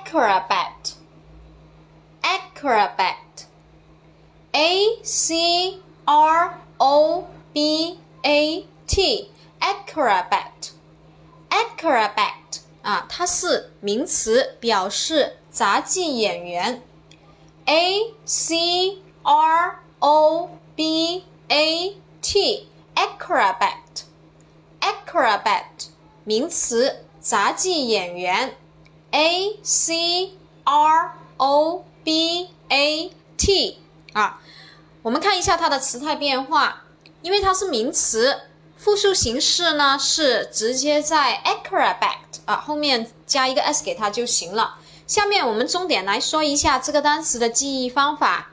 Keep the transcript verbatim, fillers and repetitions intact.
acrobat acrobat A C R O B A T acrobat acrobat 啊，它是名词，表示杂技演员。A C R O B A T acrobat acrobat 名词，杂技演员。A C R O B A T 啊，我们看一下它的词态变化，因为它是名词，复数形式呢是直接在 acrobat 啊后面加一个 s 给它就行了。下面我们重点来说一下这个单词的记忆方法。